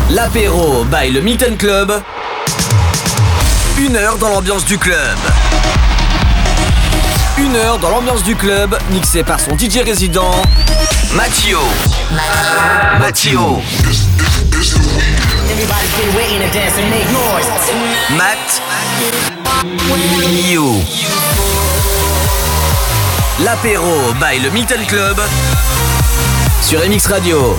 L'apéro by le Milton Club. 1 heure dans l'ambiance du club. 1 heure dans l'ambiance du club, mixé par son DJ résident, Mattio. Matt. You. L'apéro by le Milton Club sur MX Radio.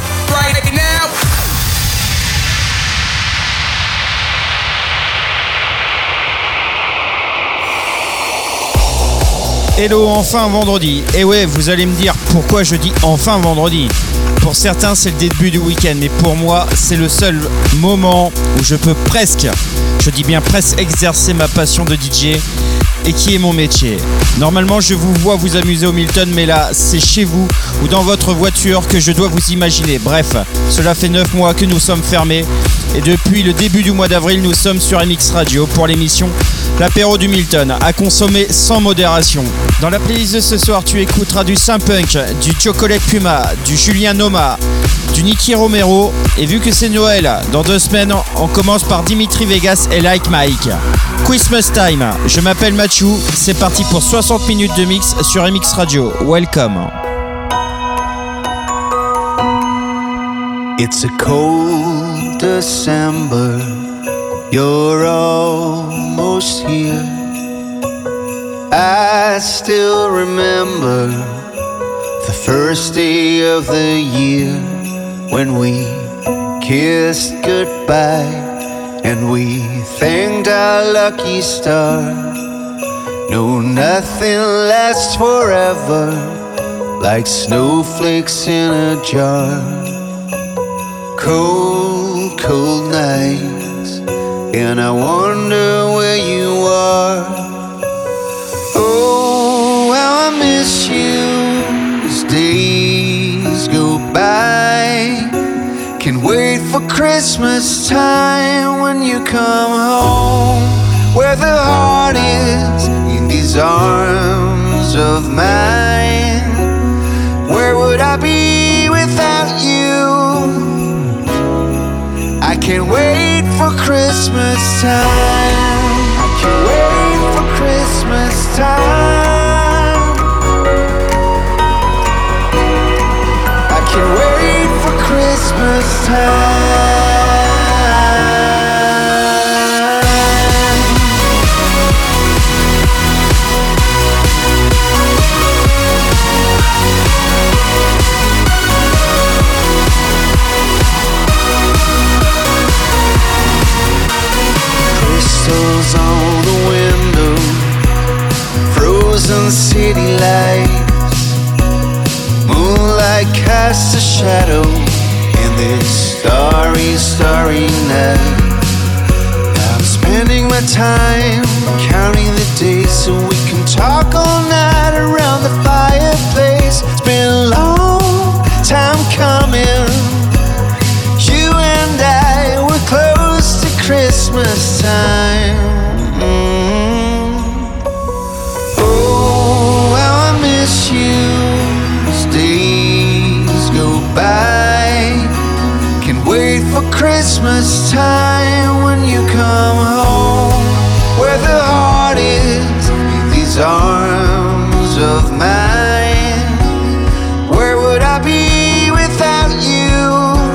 Hello, enfin vendredi. Et ouais, vous allez me dire pourquoi je dis enfin vendredi. Pour certains, c'est le début du week-end, mais pour moi, c'est le seul moment où je peux presque, je dis bien presque, exercer ma passion de DJ et qui est mon métier. Normalement, je vous vois vous amuser au Milton, mais là, c'est chez vous ou dans votre voiture que je dois vous imaginer. Bref, cela fait 9 mois que nous sommes fermés et depuis le début du mois d'avril, nous sommes sur MX Radio pour l'émission L'apéro du Milton, à consommer sans modération. Dans la playlist de ce soir, tu écouteras du Saint-Punk, du Chocolate Puma, du Julien Noma, du Nicky Romero. Et vu que c'est Noël, dans 2 semaines, on commence par Dimitri Vegas et Like Mike. Christmas Time, je m'appelle Mathieu, c'est parti pour 60 minutes de mix sur MX Radio. Welcome. It's a cold December. You're almost here. I still remember the first day of the year when we kissed goodbye and we thanked our lucky star. No, nothing lasts forever like snowflakes in a jar. Cold, cold nights, and I wonder where you are. Oh, how I miss you as days go by. Can't wait for Christmas time when you come home, where the heart is in these arms of mine. Where would I be without you? I can't wait for Christmas time. I can't wait for Christmas time. I can't wait for Christmas time. Crystals on the window, frozen city lights. Moonlight casts a shadow in this starry, starry night. I'm spending my time counting the days so we can talk all night around the fireplace. It's been a long time coming. You and I were close to Christmas time. Oh, how I miss you as days go by. Can't wait for Christmas time when you come home, where the heart is in these arms of mine. Where would I be without you?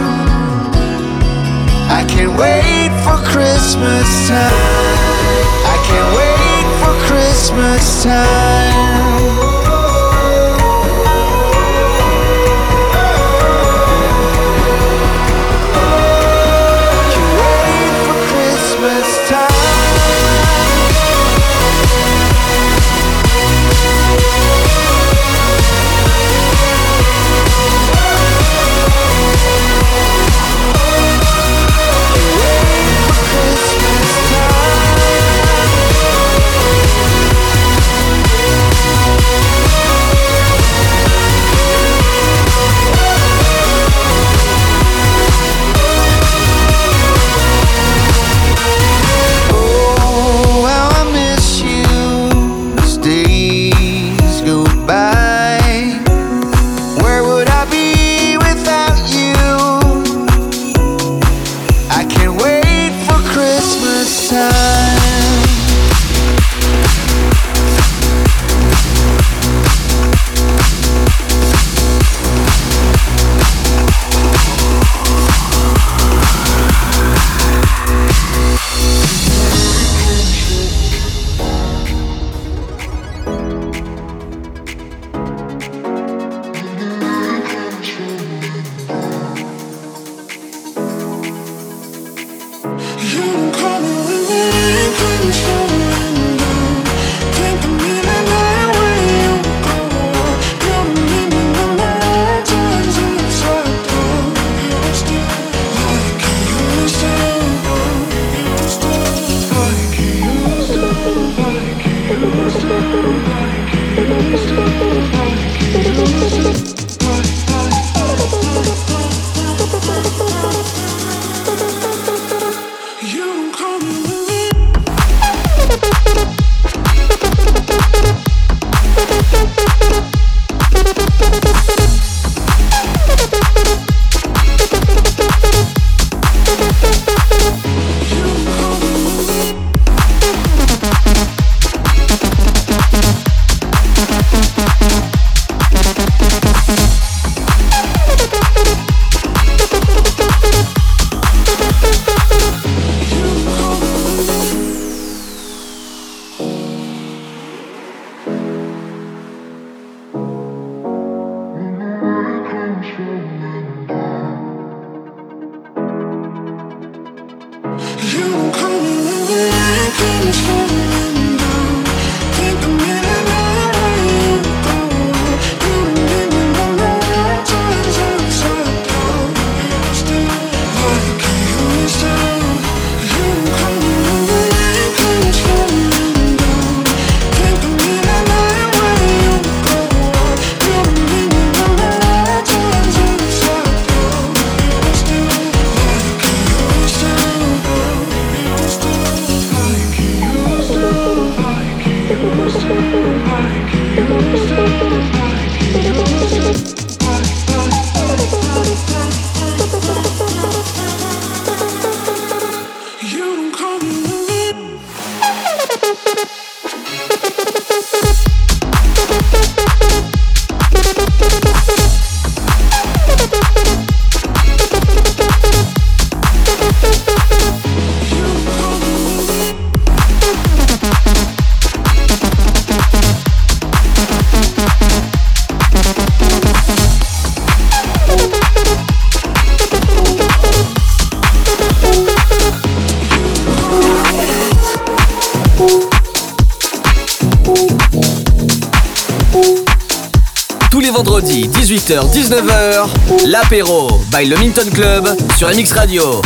I can't wait for Christmas time. I can't wait for Christmas time. Vendredi 18h-19h, l'apéro by le Minton Club sur MX Radio.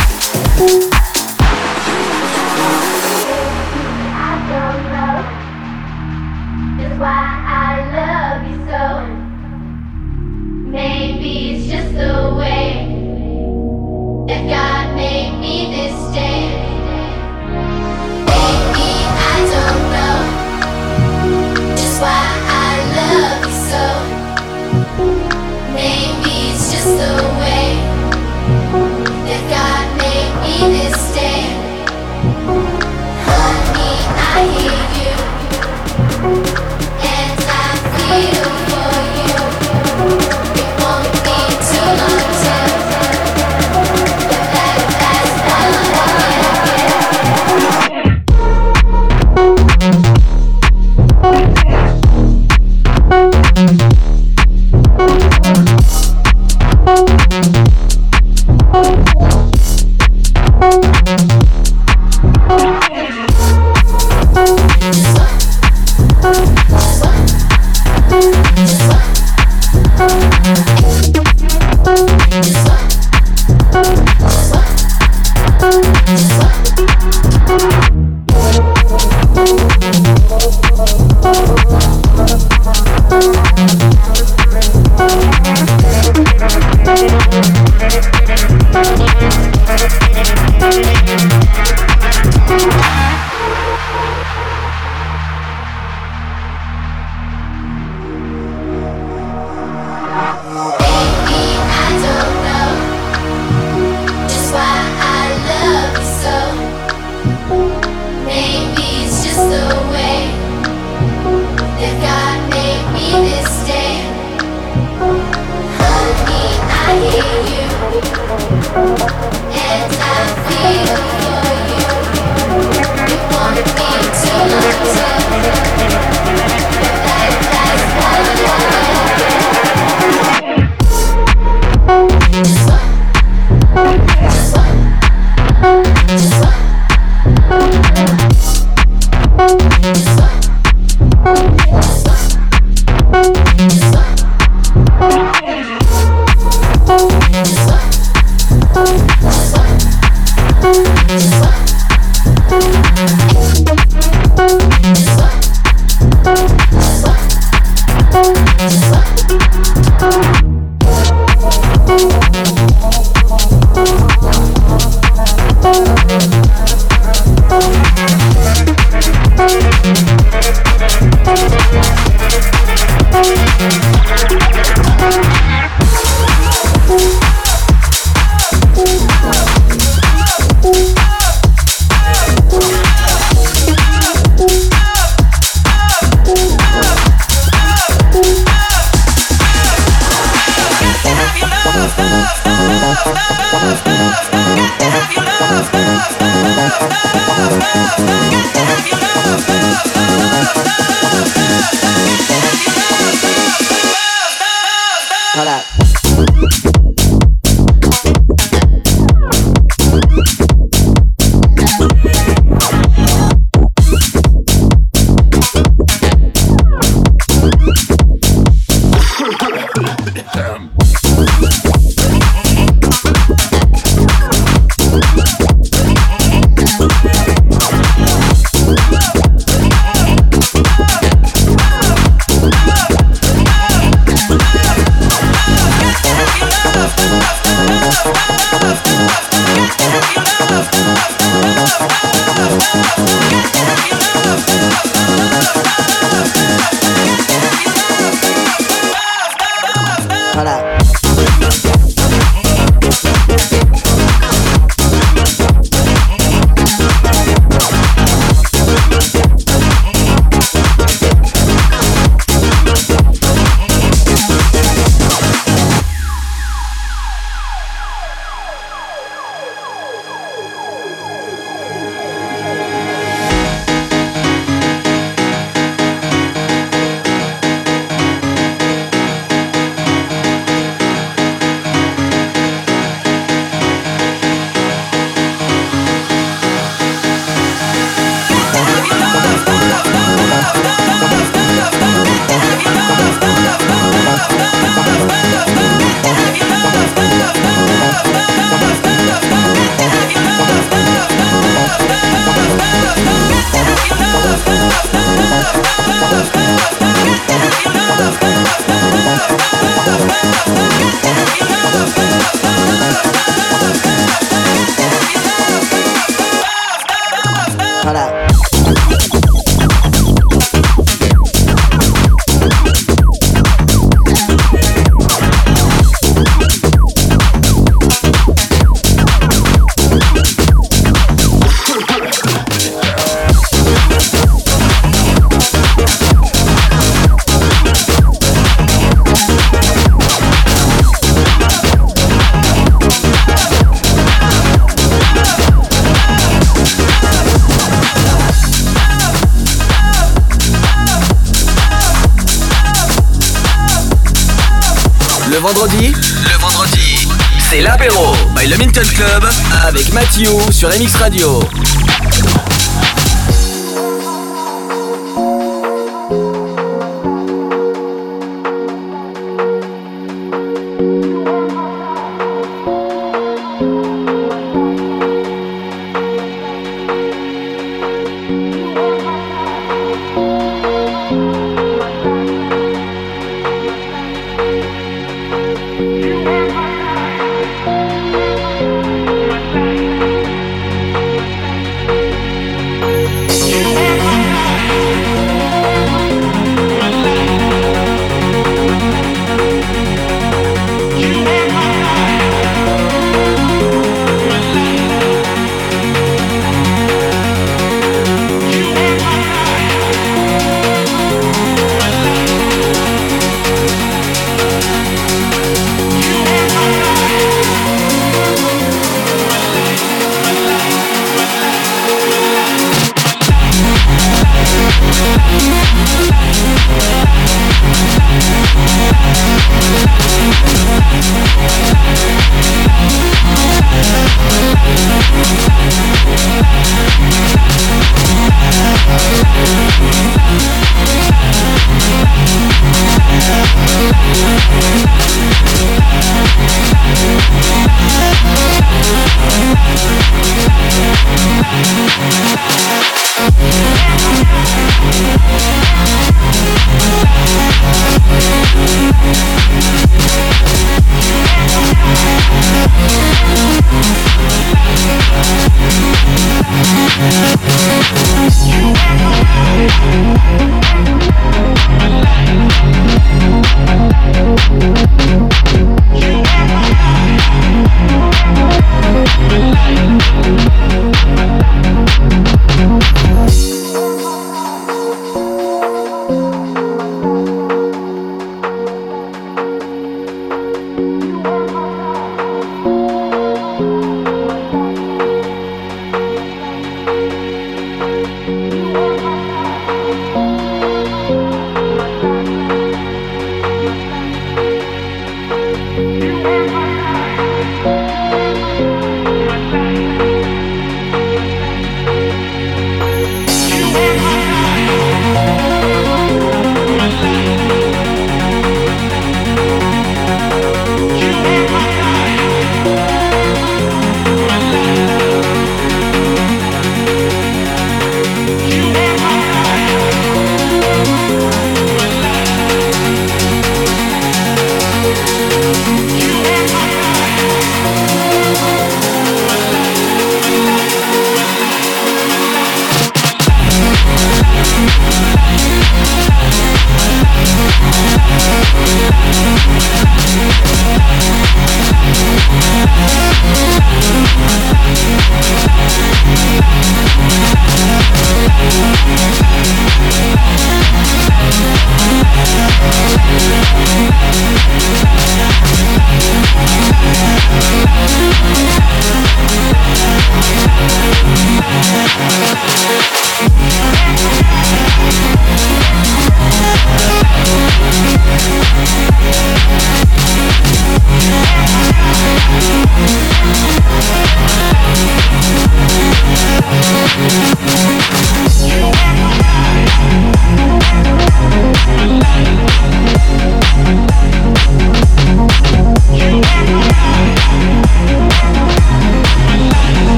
vendredi, c'est l'apéro by le Milton Club avec Mathieu sur MX Radio.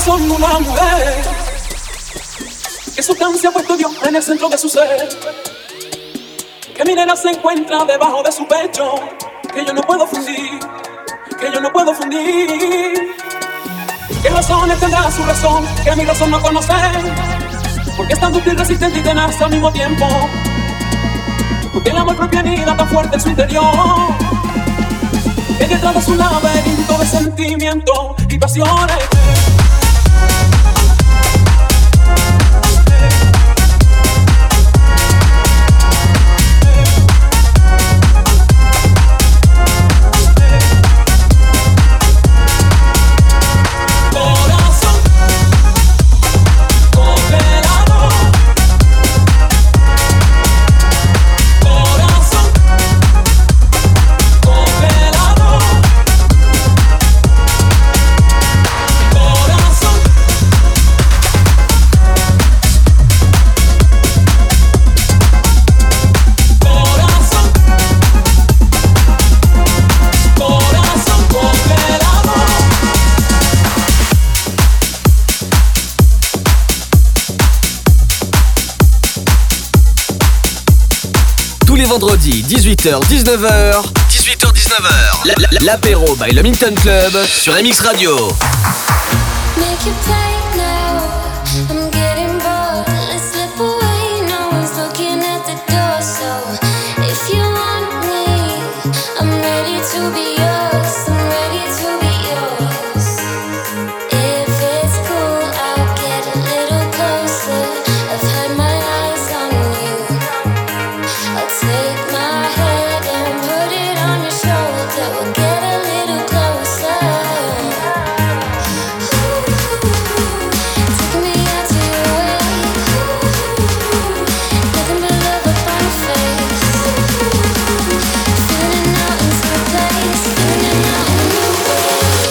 soy una mujer que su se ha puesto Dios en el centro de su ser, que mi nena se encuentra debajo de su pecho, que yo no puedo fundir, que yo no puedo fundir. ¿Qué razones tendrá su razón que mi razón no conoce? Porque es tan dúctil, resistente y tenaz al mismo tiempo, porque el amor propio anida tan fuerte en su interior, que detrás de su laberinto de sentimientos y pasiones vendredi 18h-19h 18h-19h l'apéro by le Minton Club sur MX Radio. Make it play now. I'm getting bored. Let's slip away. No one's looking at the door. So if you want me, I'm ready to be yours. I'm ready to be yours. If it's cool, I'll get a little closer. I've had my eyes on you. I'll take my head and put it on your shoulder. We'll get a little closer. Take me out to your way. Nothing but love up on your face. Feeling out into a place. Feeling out in a new way.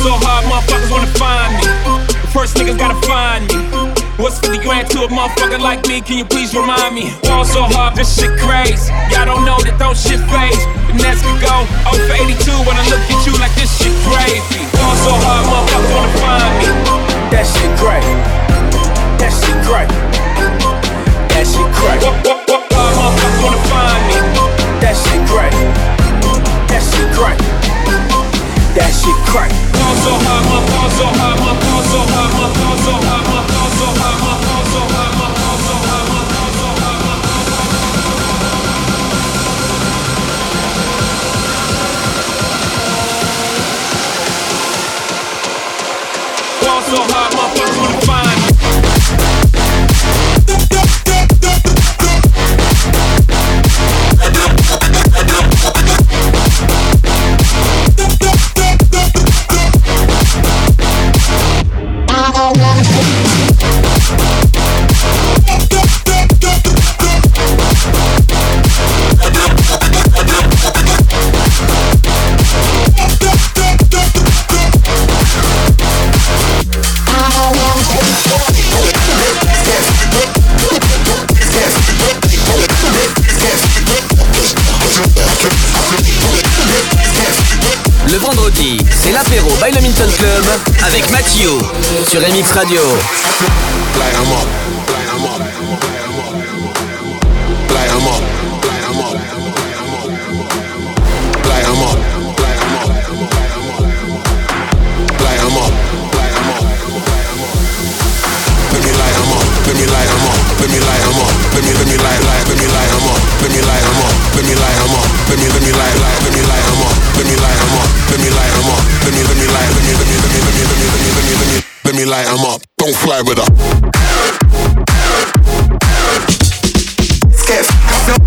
so hard, motherfuckers wanna find me. The first niggas gotta find me. What's 50 grand to a motherfucker like me? Can you please remind me? Fall so hard, this shit crazy. Y'all don't know that don't shit phase. The next could go 0 for 82 when I look at you like this shit crazy. Fall so hard, motherfuckers wanna find me. That shit great. That shit great. That shit great. Motherfuckers wanna find me. That shit great. That shit great. That shit crack. Fall so hard, my fall so hard, my fall so hard, my fall so hard, my fall so hard, my fall so hard, my fall so hard, my fall so hard, my fall so hard, motherfuckers wanna find me. Le vendredi, c'est l'apéro by le Minton Club avec Mathieu sur MX Radio. Light 'em up. Light 'em up. Light 'em up. Light 'em up. Let me light 'em up. Let me light 'em up. Let me light 'em up. Let me light. Let me light 'em up. Let me light 'em up. Let me light 'em up. Let me light. Let me light 'em up. Let me light 'em up. Let me light 'em up. Let me light. Let me light 'em up. Don't fly with her. Skip.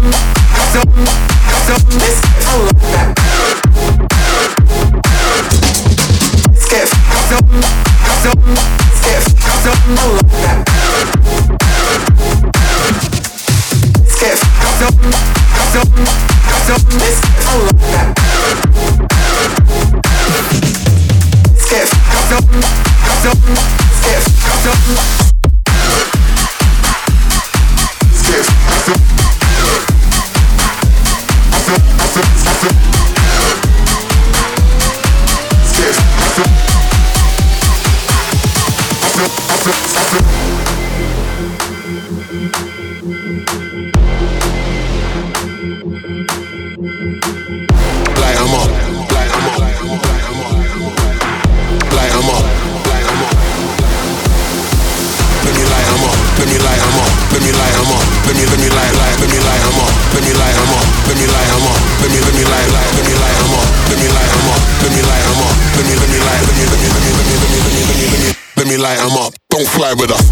Light 'em up, don't fly with her.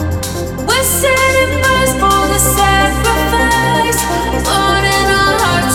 Setting first for the sacrifice, burning our hearts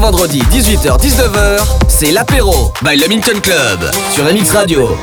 vendredi, 18h-19h, c'est l'apéro by le Milton Club sur MX Radio.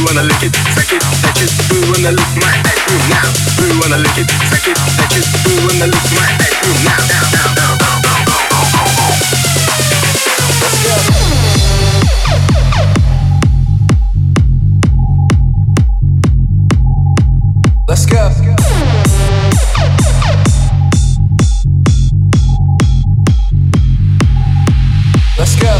wanna lick it, suck it, touch it, we wanna lick my ass now. We wanna lick it, suck it, touch it, we wanna lick my ass now. Let's go. Let's go. Let's go.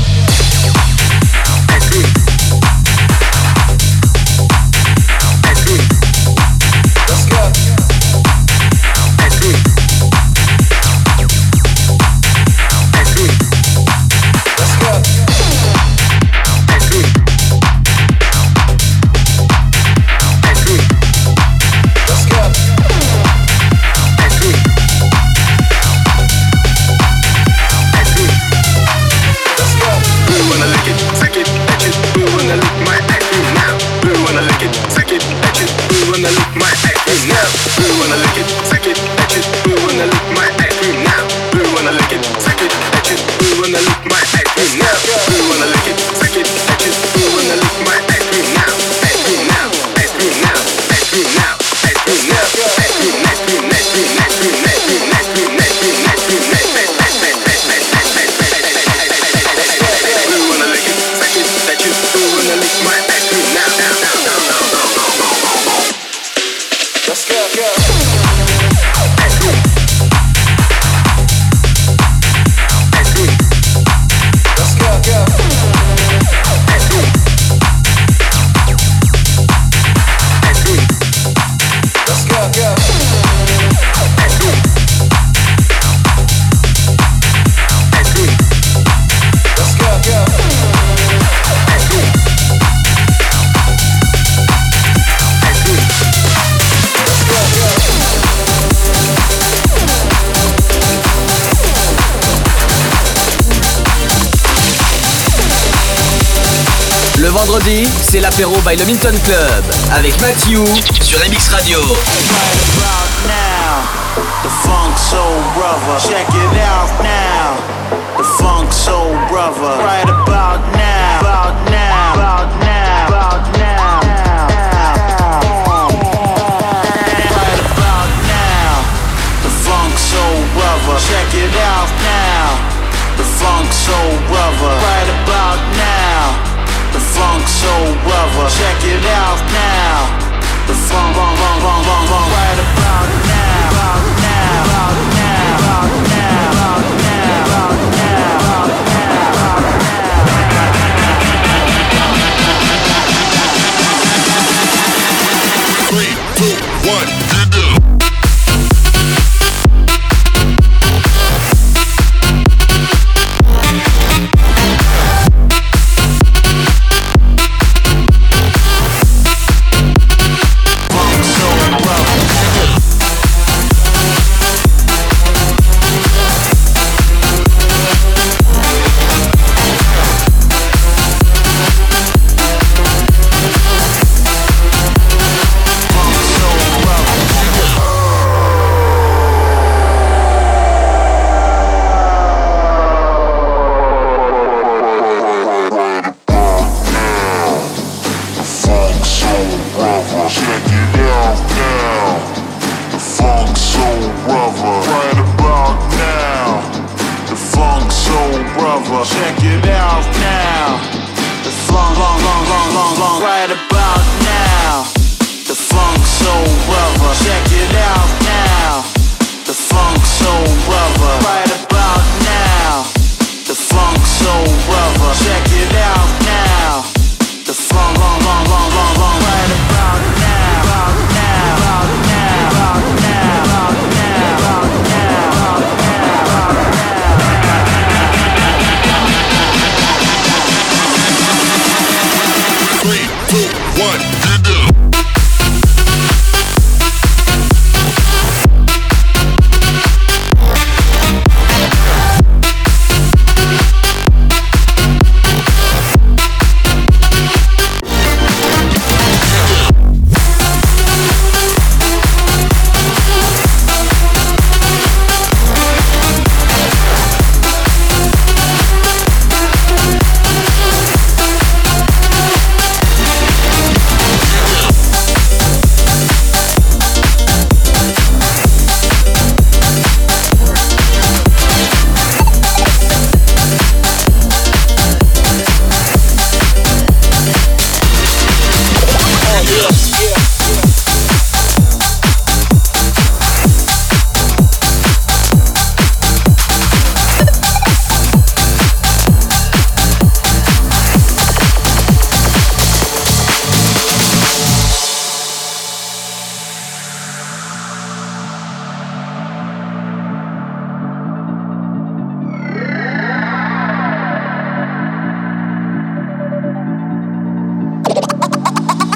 Le vendredi, c'est l'apéro by le Minton Club avec Matthew sur MX Radio. The Funk Soul Brother, check it out now. The Funk Soul Brother, right about now, about now, about now, about now. Right about now. The Funk Soul Brother, check it out now. The Funk Soul Brother, right about now. The Funk Soul Brother, check it out now. The funk, right about now, about now, about now, about now, about now, about now, about now. 3, 2, 1, and do.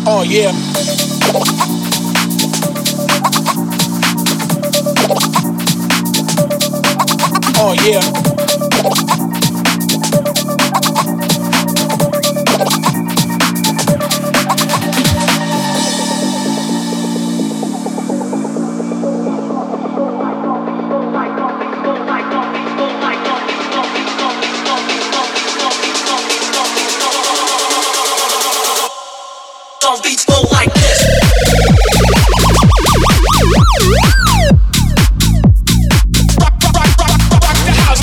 Oh yeah. Oh yeah. Beats go like this. Rock the house.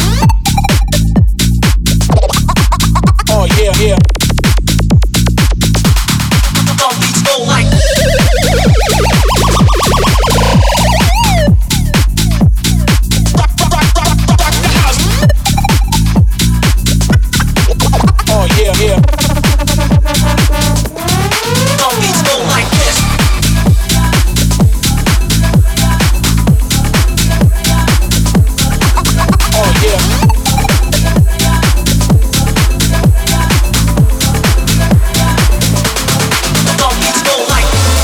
Oh yeah, yeah. Beats go like this. Rock the house. Oh yeah, yeah. Beats go like this. Oh yeah. Beats go like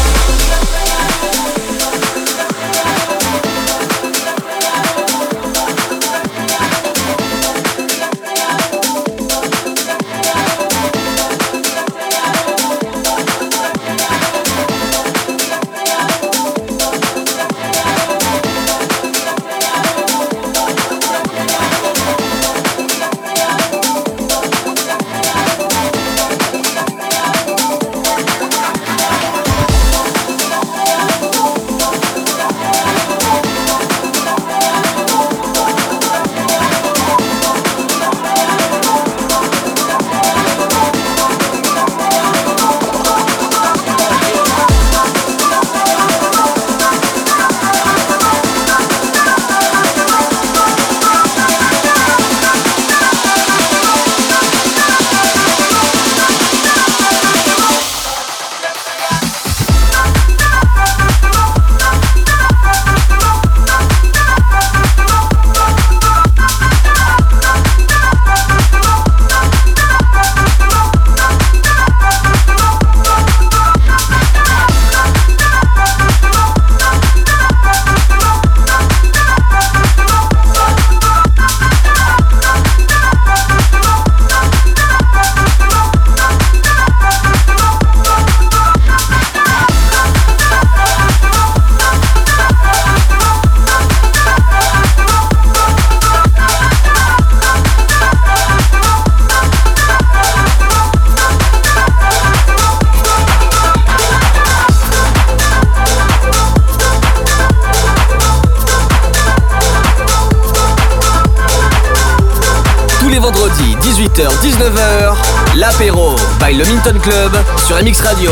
Vendredi 18h-19h, l'apéro by le Minton Club sur MX Radio.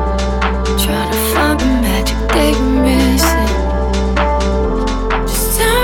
Just tell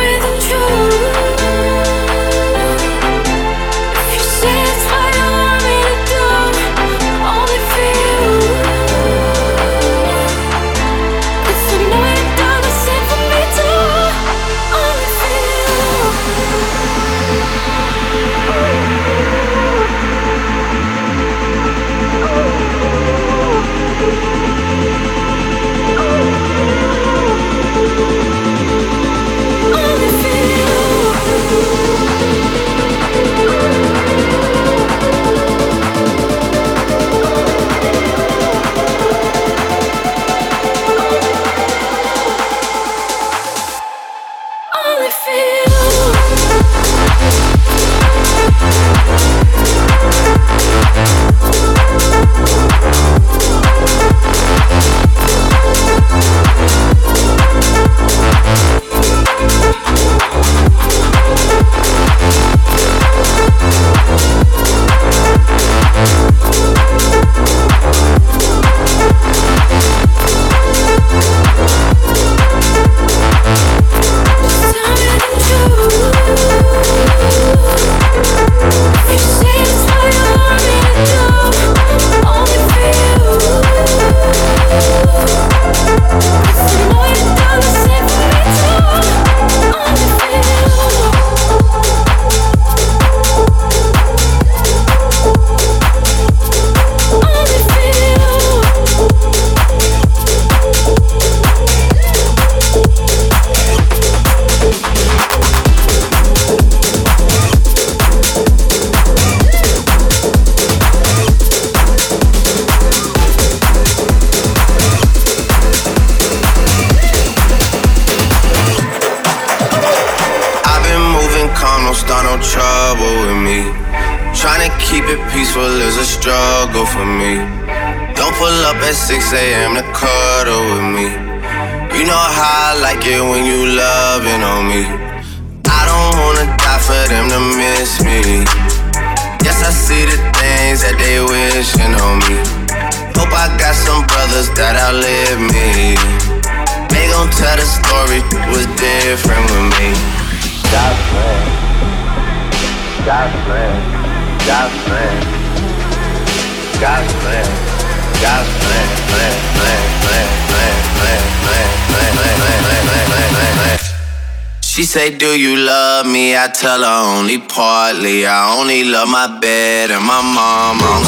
She say, do you love me? I tell her only partly. I only love my bed and my mama.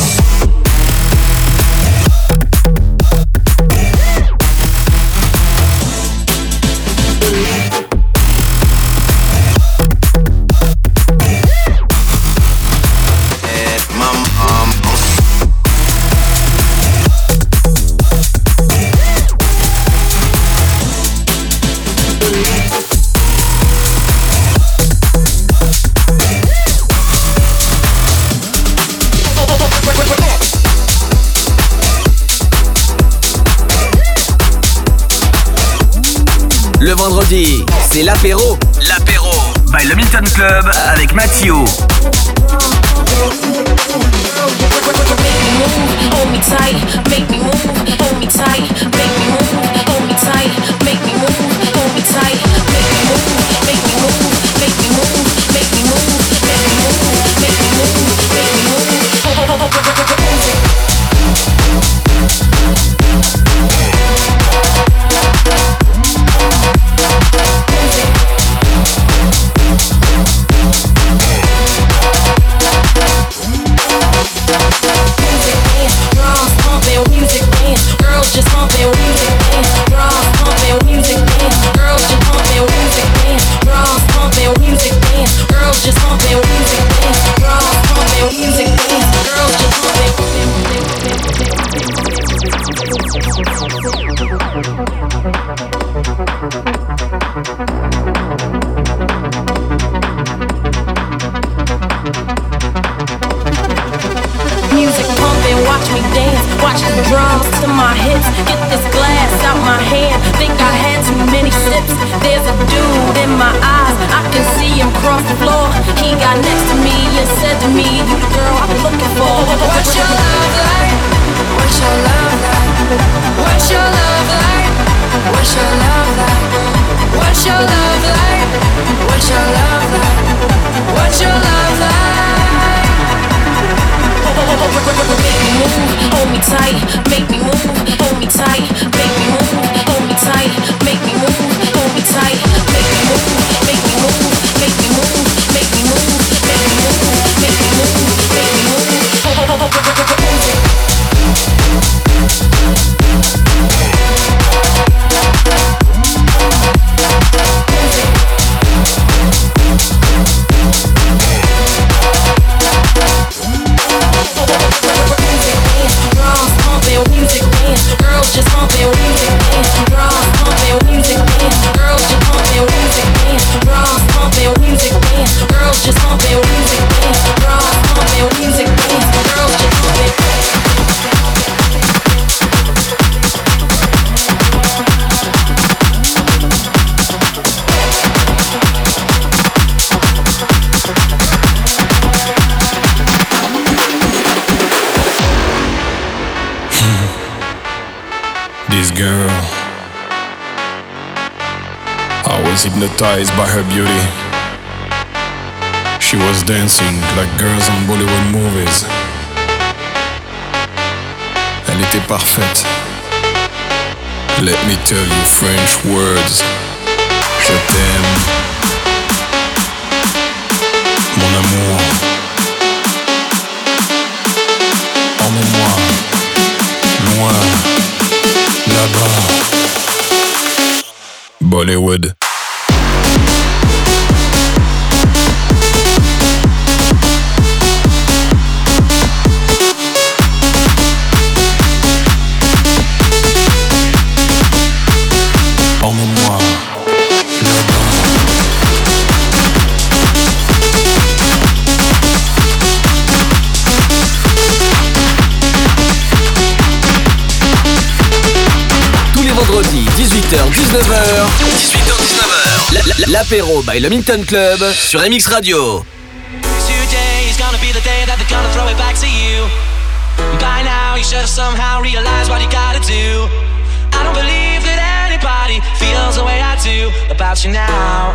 Le vendredi, c'est l'apéro. L'apéro by le Milton Club avec Mathieu. Hold me tight, make me move, hold me tight, make me move, hold me tight, make me move, hold me tight, make me move, make me move, make me move, make me move, make me move, make me move, make me move. Just pumping music, drums pumping music, girls just pumping music, drums pumping music, girls just pumping music, drums pumping music, girls just pumping. Music pumping, watch me dance, watch the drums to my hips, get this glass out my hand, think I had too many sips, there's a dude in my eyes, I can see him cross the floor, he got next to me and said to me, you the girl I'm looking for. What's your love like? What's your love like? What's your love like? What's your love like? What's your love like? What's your love like? What's your love like? Make me move, hold me tight, make me move, hold me tight, make me move, hold me tight, make me move, hold me tight, make me move, make me move, make me move, make me move, make me move, make me move, make me move. girl. I was hypnotized by her beauty. She was dancing like girls on Bollywood movies. Elle était parfaite. Let me tell you French words. Je t'aime, mon amour. Emmène-moi, loin, là-bas. Bollywood. Emmène-moi là-bas. Tous les vendredis, 18h-19h. 18h-19h. L'apéro by le Minton Club sur MX Radio. Today is gonna be the day that they're gonna throw it back to you. By now you should have somehow realized what you gotta do. I don't believe that anybody feels the way I do about you now.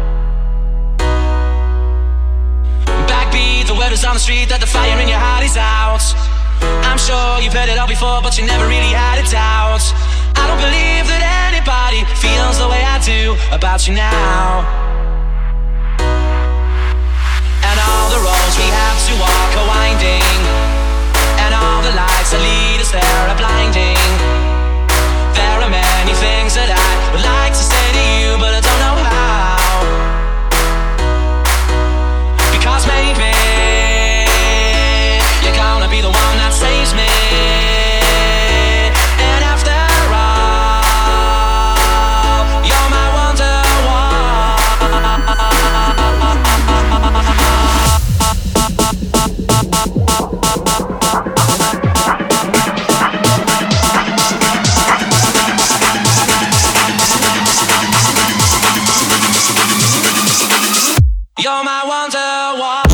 Backbeat, the word is on the street that the fire in your heart is out. I'm sure you've heard it all before, but you never really had it out. I don't believe that anybody feels the way I do about you now. And all the roads we have to walk are winding, and all the lights that lead us there are blinding. There are many things that I would like to say to you, but I don't know how. Because maybe you're gonna be the one that saves me. And after all, you're my You're my wonderwall.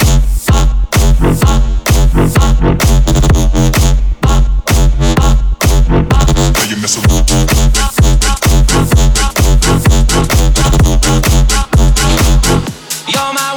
You're my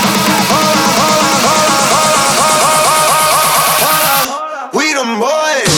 We them boys.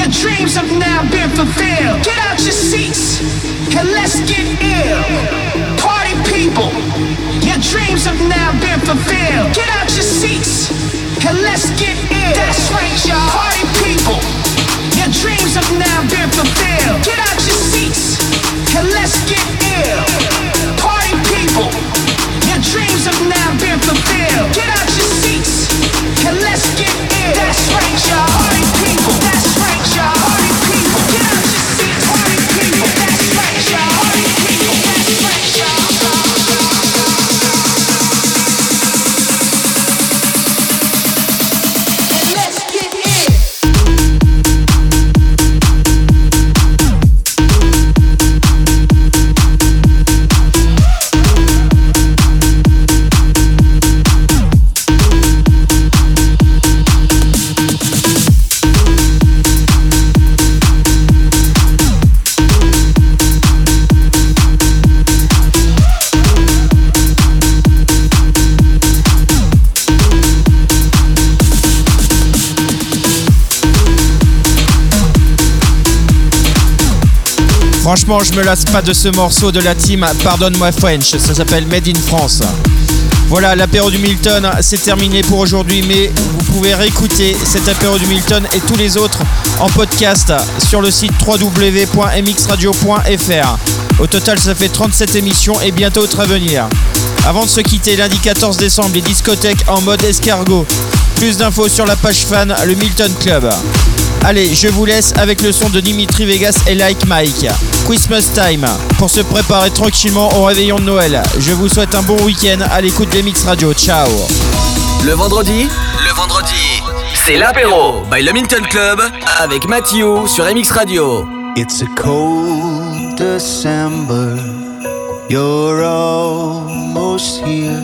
dreams have now been fulfilled. Get out your seats and let's get ill. Party people, your dreams have now been fulfilled. Get out your seats and let's get ill. That's right, y'all. Party people, your dreams have now been fulfilled. Get out your seats and let's get ill. Party people, your dreams have now been fulfilled. Get out your seats and let's get ill. That's right, y'all. Party people, that's right, y'all. Party people, get out your seats. Party people, that's right, y'all. Party people, that's right, y'all. Franchement, je me lasse pas de ce morceau de la team Pardonne-moi French, ça s'appelle Made in France. Voilà, l'apéro du Milton, c'est terminé pour aujourd'hui, mais vous pouvez réécouter cet apéro du Milton et tous les autres en podcast sur le site www.mxradio.fr. Au total, ça fait 37 émissions et bientôt autre à venir. Avant de se quitter, lundi 14 décembre, les discothèques en mode escargot. Plus d'infos sur la page fan, le Milton Club. Allez, je vous laisse avec le son de Dimitri Vegas et Like Mike. Christmas Time, pour se préparer tranquillement au réveillon de Noël. Je vous souhaite un bon week-end à l'écoute des Mix Radio. Ciao. Le vendredi, c'est l'apéro by le Milton Club avec Mathieu sur MX Radio. It's a cold December, you're almost here.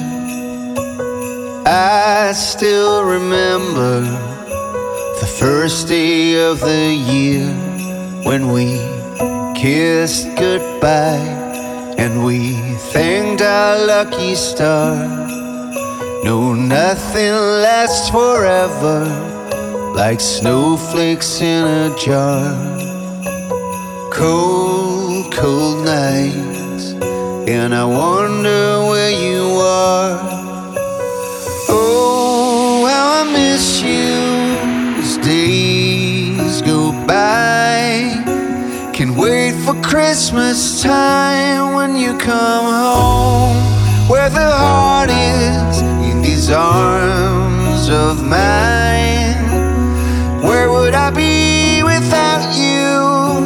I still remember the first day of the year when we kissed goodbye and we thanked our lucky star. No, nothing lasts forever like snowflakes in a jar. Cold, cold nights, and I wonder where you are. Oh, how I miss you. Days go by, can wait for Christmas time when you come home, where the heart is in these arms of mine. Where would I be without you?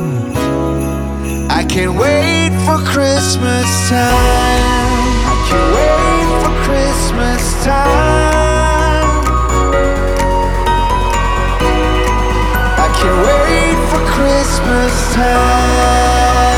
I can't wait for Christmas time. I can't wait for Christmas time. Can't wait for Christmas time.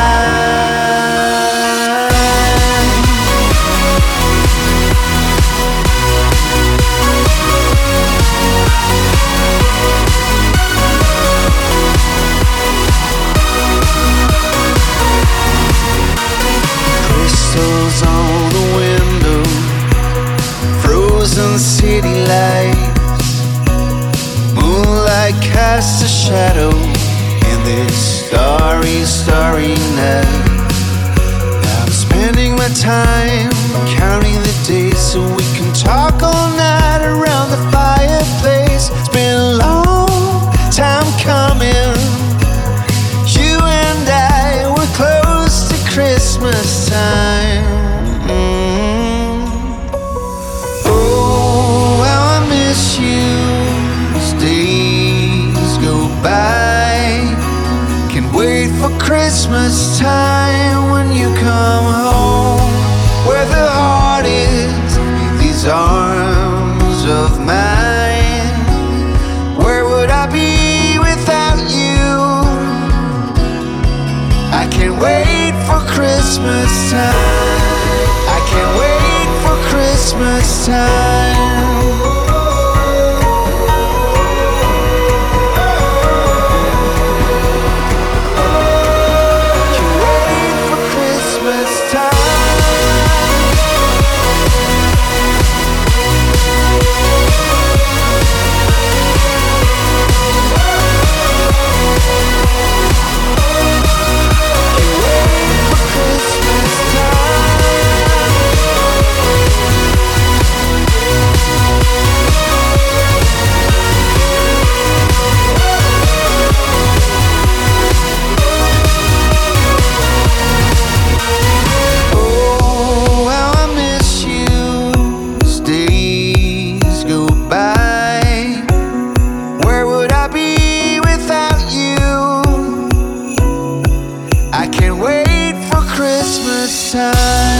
Crystals on the window, frozen city lights. Moonlight casts a shadow in this starry, starry night. Now I'm spending my time counting the days so we can talk all night around the fireplace. It's been a long time coming. You and I were close to Christmas time. Oh, how I miss you. Days go by, can wait for Christmas time when you come home, where the heart is in these arms of mine. Where would I be without you? I can't wait for Christmas time. I can't wait for Christmas time. sign.